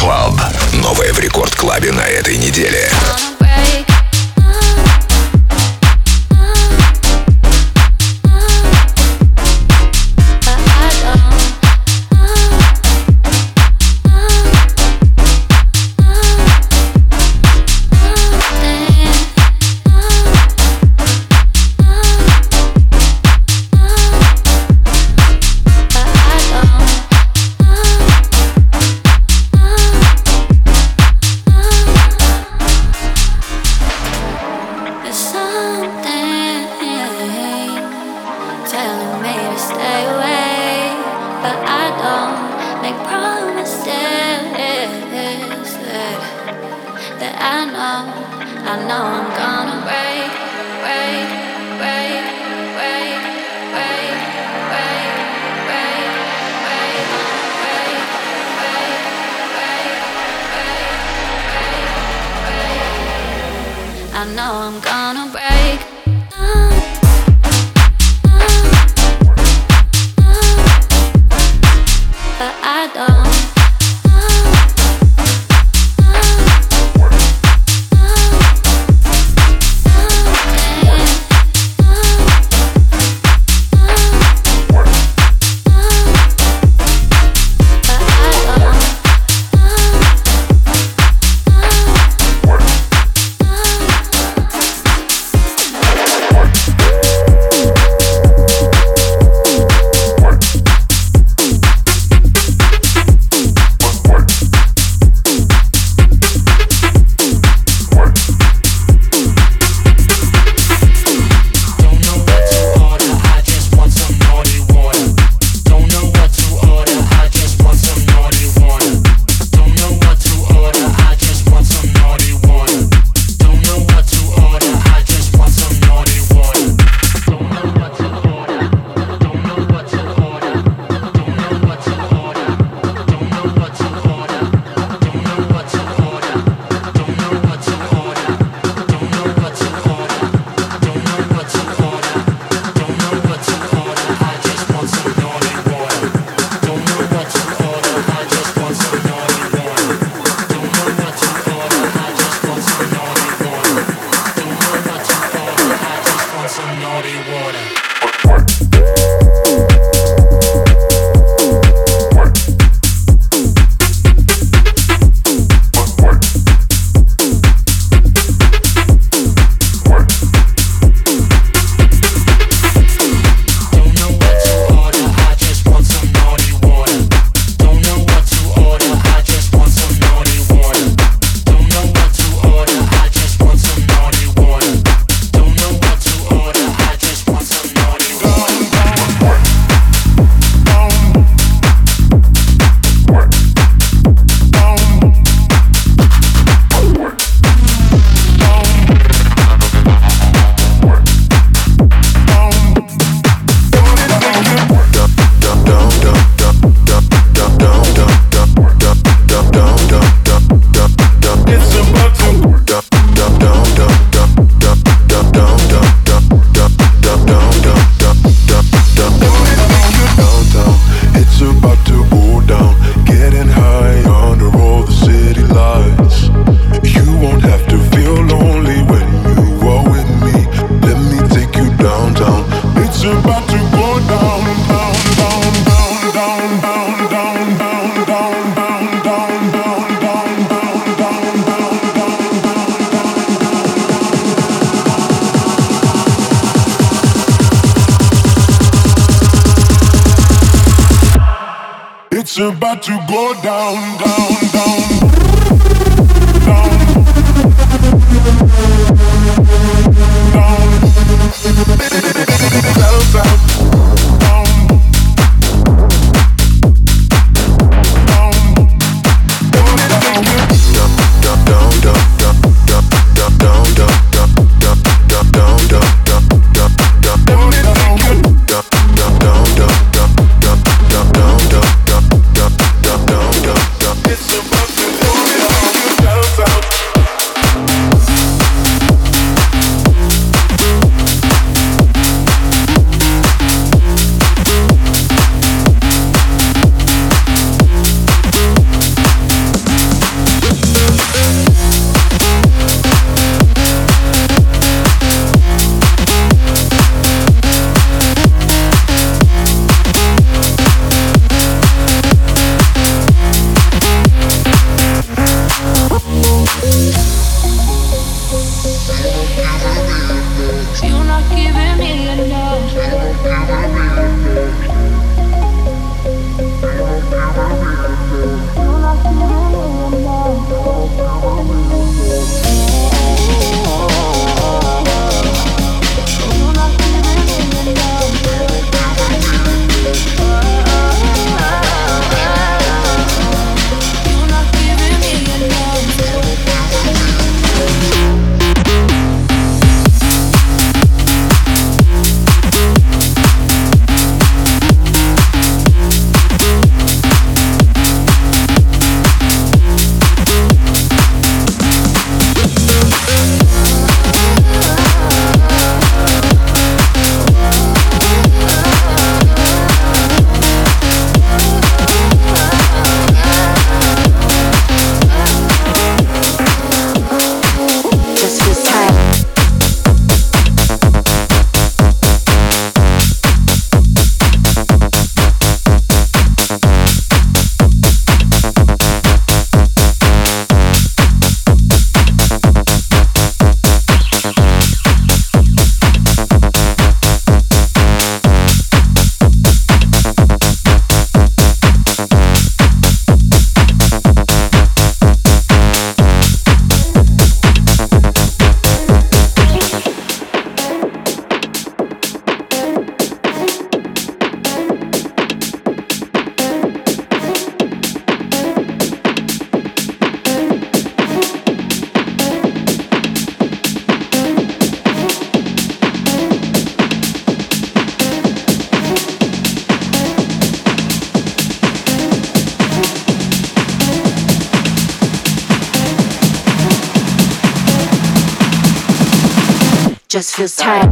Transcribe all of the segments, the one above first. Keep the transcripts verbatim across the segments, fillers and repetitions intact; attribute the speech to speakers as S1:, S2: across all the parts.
S1: Club. Новое в Рекорд Клабе на этой неделе.
S2: I know I'm gonna break. But I don't.
S3: It's about to go down, down, down, down, down. Close out, down,
S4: just feels tight.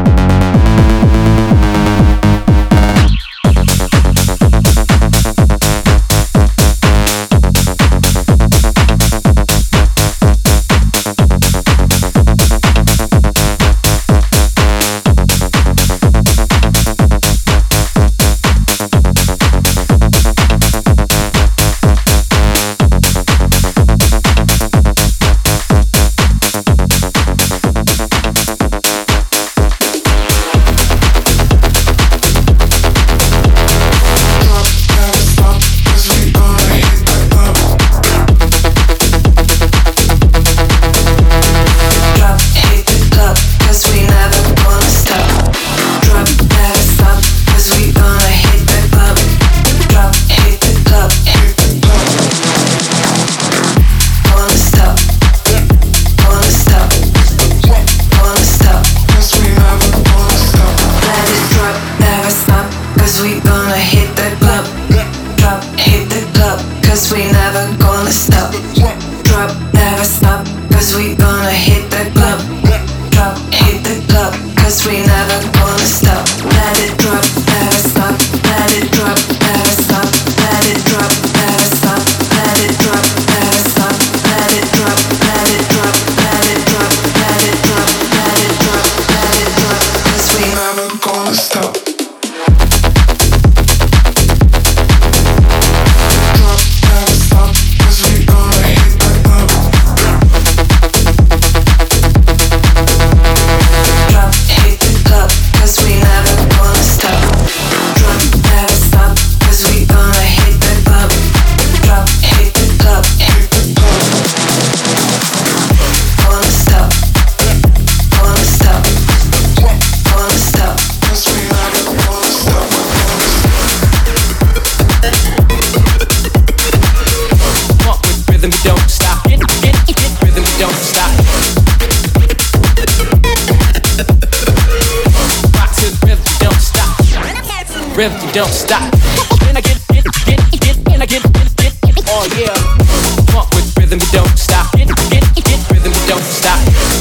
S5: Rhythm, don't stop. When I get, get, get, get, when I get, get, get, get, oh yeah. Funk with rhythm, you don't stop. Get, get, get, rhythm, you don't stop.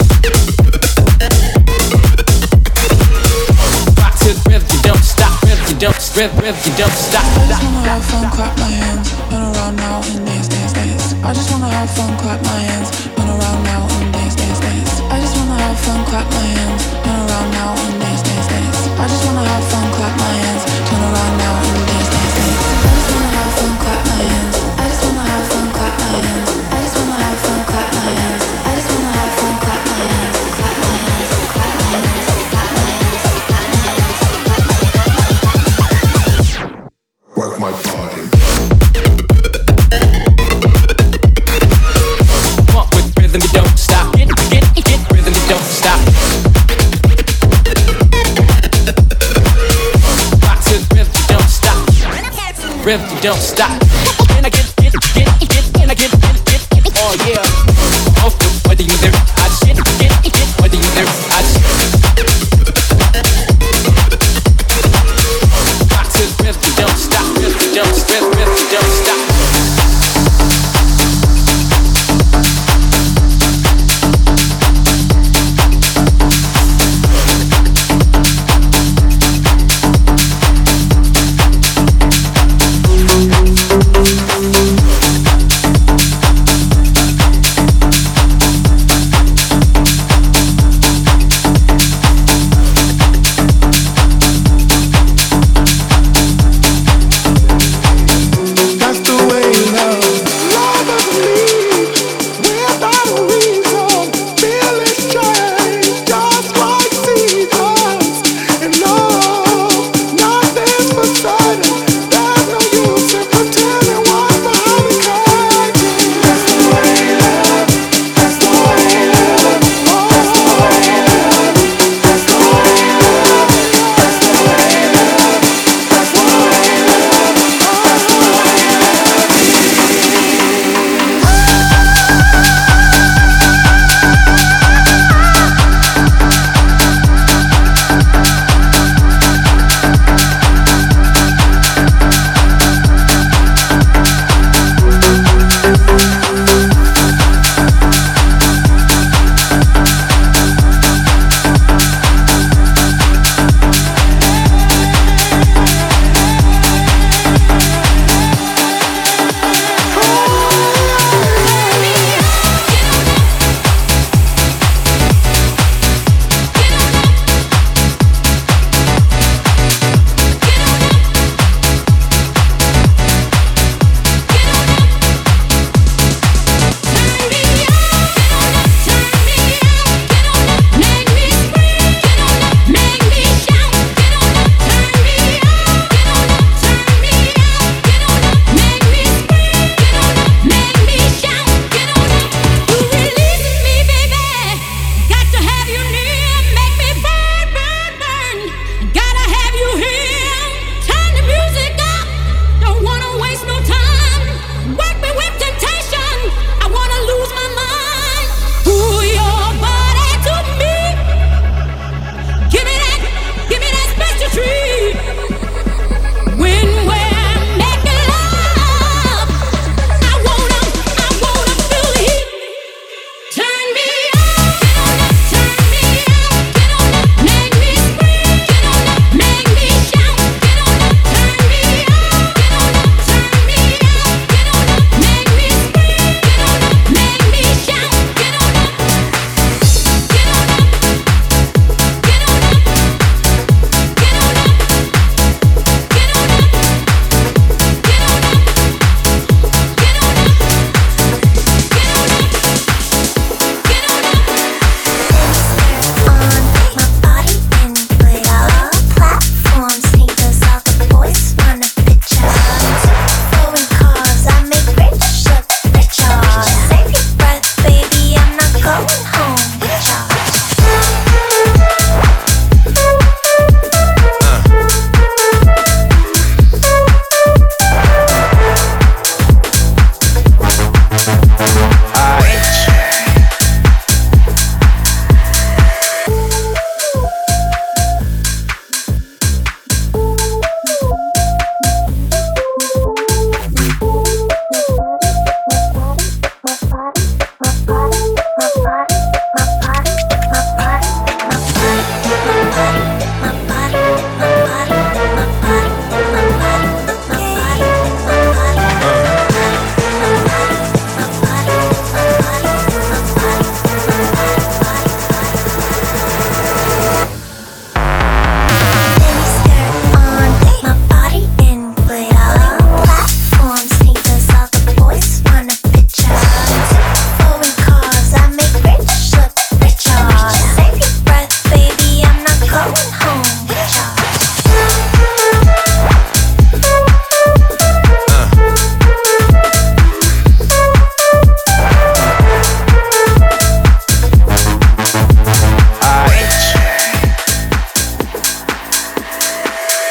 S5: Rock to the rhythm, you don't stop. Rhythm, you don't, rhythm, rhythm, you don't stop.
S6: I just wanna have fun, clap my hands, run around now and dance, dance, dance. I just wanna have fun, clap my hands, run around now and dance, dance, dance. I just wanna have fun, clap my hands, run around now and dance, dance, dance. I just wanna have fun, clap my hands, turn around now and dance, dance, dance. I just wanna have fun, clap my hands. I just wanna have fun, clap my hands. I just wanna have fun, clap my hands. I just wanna have fun, clap my hands. Clap my hands, clap my hands, clap my hands, clap my hands.
S3: Work my body.
S5: Funk with rhythm, you don't stop. Get, get, get, rhythm, you don't stop. Rock to the rhythm, you don't stop. Rhythm, you don't stop.